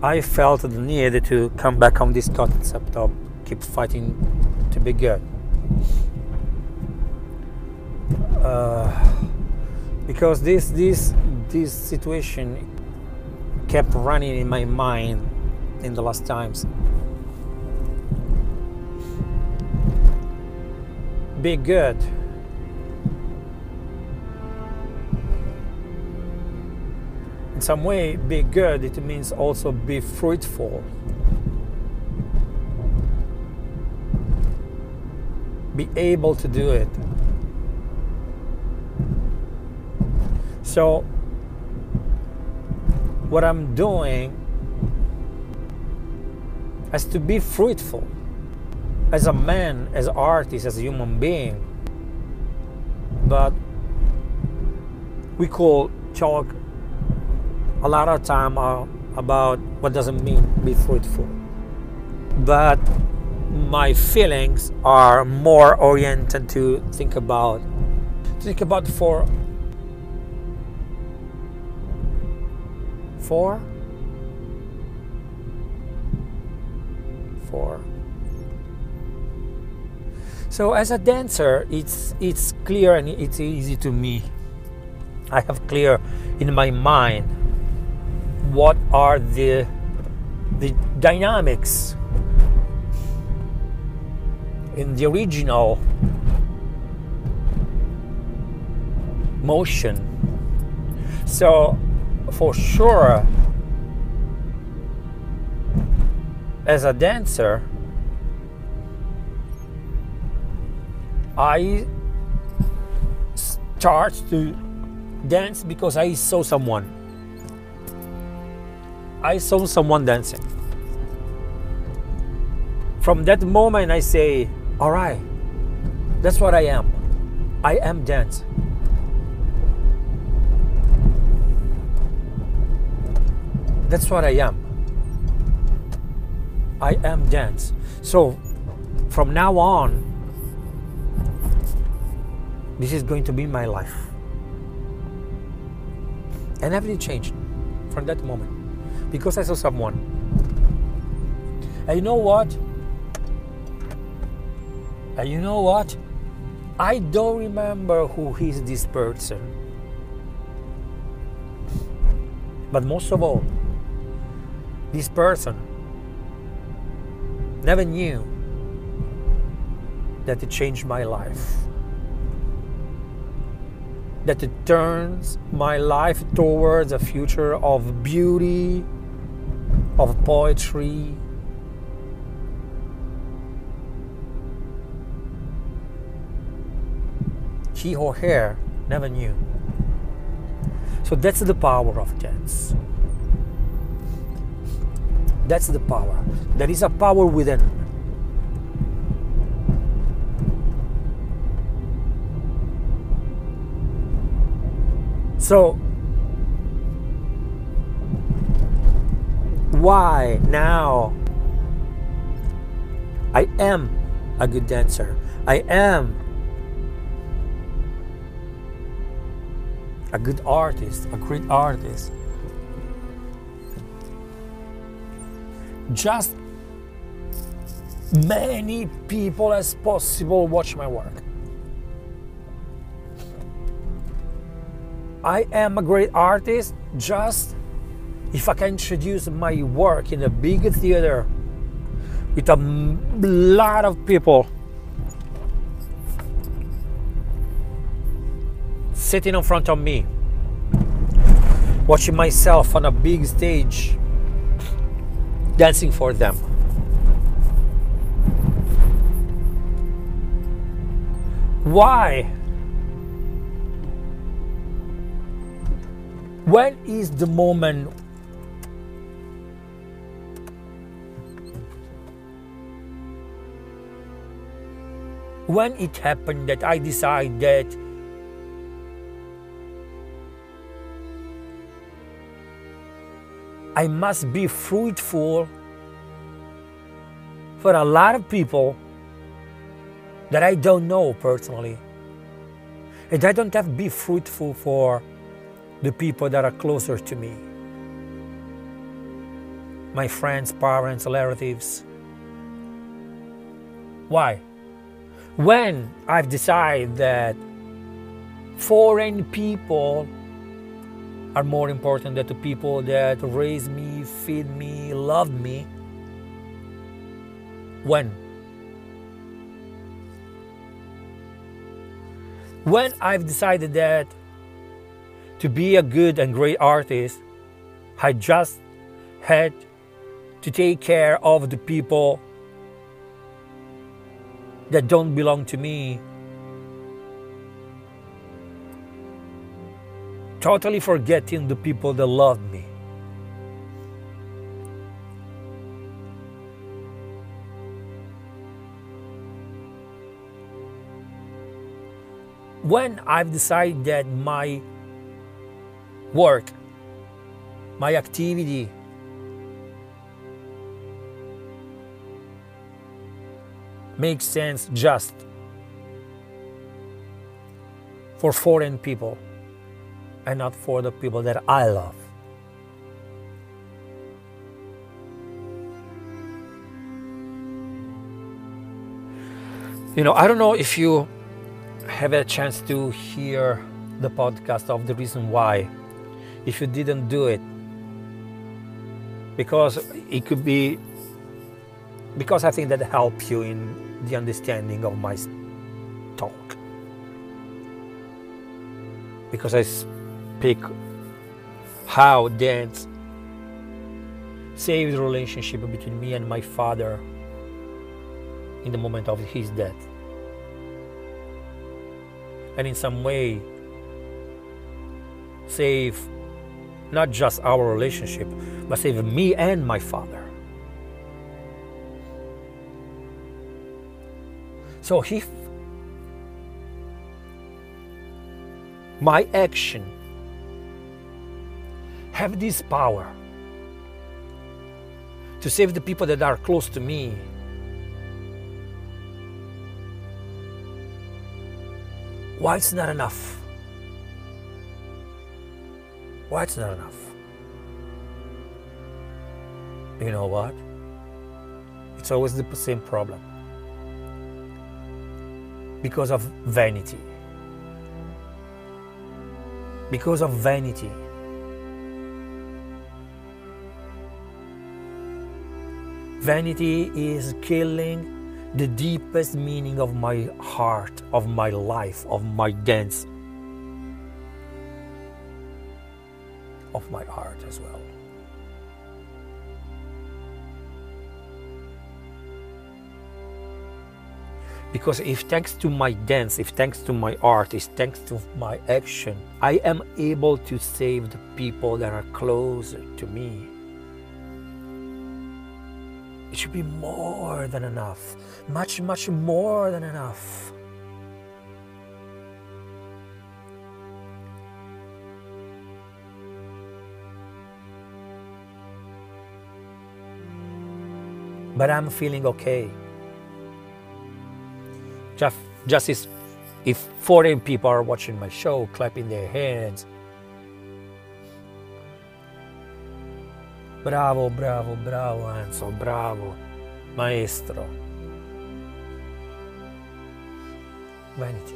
I felt the need to come back on this concept of keep fighting to be good. Because this situation kept running in my mind in the last times. Be good. In some way, be good, it means also be fruitful. Be able to do it. So, what I'm doing is to be fruitful as a man, as an artist, as a human being. But we could talk a lot of time about what does it mean be fruitful. But my feelings are more oriented to think about for So as a dancer, it's clear and it's easy to me. I have clear in my mind what are the dynamics in the original motion. So for sure, as a dancer, I start to dance because I saw someone. I saw someone dancing. From that moment I say, all right, that's what I am. I am dance. That's what I am. I am dance. So from now on, this is going to be my life. And everything changed from that moment because I saw someone. And you know what? I don't remember who is this person. But most of all, this person never knew that it changed my life. That it turns my life towards a future of beauty, of poetry. He or her never knew. So that's the power of dance. That's the power. There is a power within. So, why now? I am a good dancer. I am a good artist, a great artist. Just many people as possible watch my work. I am a great artist just if I can introduce my work in a big theater with a lot of people sitting in front of me, watching myself on a big stage, dancing for them. Why? When is the moment when it happened that I decided that I must be fruitful for a lot of people that I don't know personally. And I don't have to be fruitful for the people that are closer to me. my friends, parents, relatives. Why? When I've decided that foreign people are more important than the people that raise me, feed me, love me. When I've decided that to be a good and great artist, I just had to take care of the people that don't belong to me, totally forgetting the people that love me. When I've decided that my work, my activity makes sense just for foreign people and not for the people that I love. I don't know if you have a chance to hear the podcast of The Reason Why. If you didn't do it, because it could be, because I think that helps you in the understanding of my talk. Because I speak how dance saved the relationship between me and my father in the moment of his death. And in some way save not just our relationship, but save me and my father. So if my action have this power to save the people that are close to me, why it's not enough? Why it's not enough? You know what? It's always the same problem. Because of vanity. Because of vanity. Vanity is killing the deepest meaning of my heart, of my life, of my dance, of my art as well. Because if thanks to my dance, if thanks to my art, if thanks to my action, I am able to save the people that are closer to me, it should be more than enough. Much, much more than enough. But I'm feeling okay. Just as if foreign people are watching my show, clapping their hands. Bravo, bravo, bravo, Enzo, bravo, maestro. Vanity.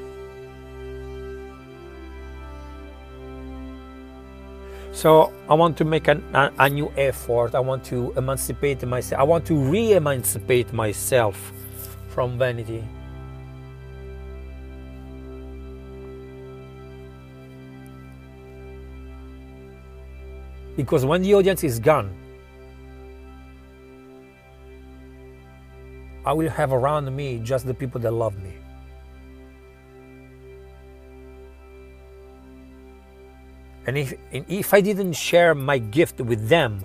So I want to make a new effort. I want to emancipate myself. I want to re-emancipate myself from vanity. Because when the audience is gone, I will have around me just the people that love me. And if I didn't share my gift with them,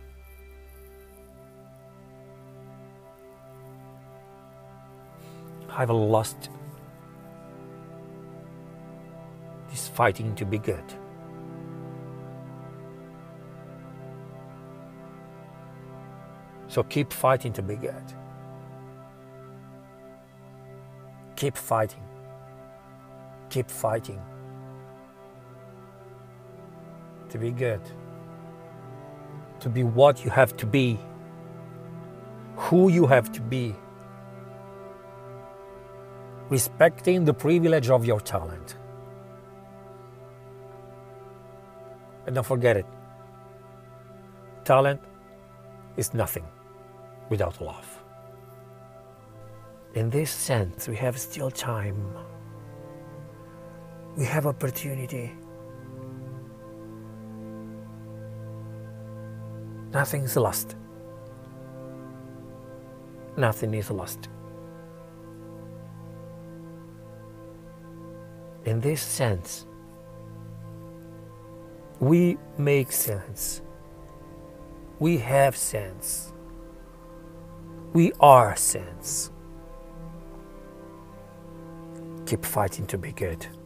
I've lost this fighting to be good. So keep fighting to be good. Keep fighting. Keep fighting to be good. to be what you have to be, who you have to be, respecting the privilege of your talent. And don't forget it, talent is nothing without love. In this sense, we have still time. We have opportunity. Nothing's lost. Nothing is lost. In this sense, we make sense. We have sense. We are sense. Keep fighting to be good.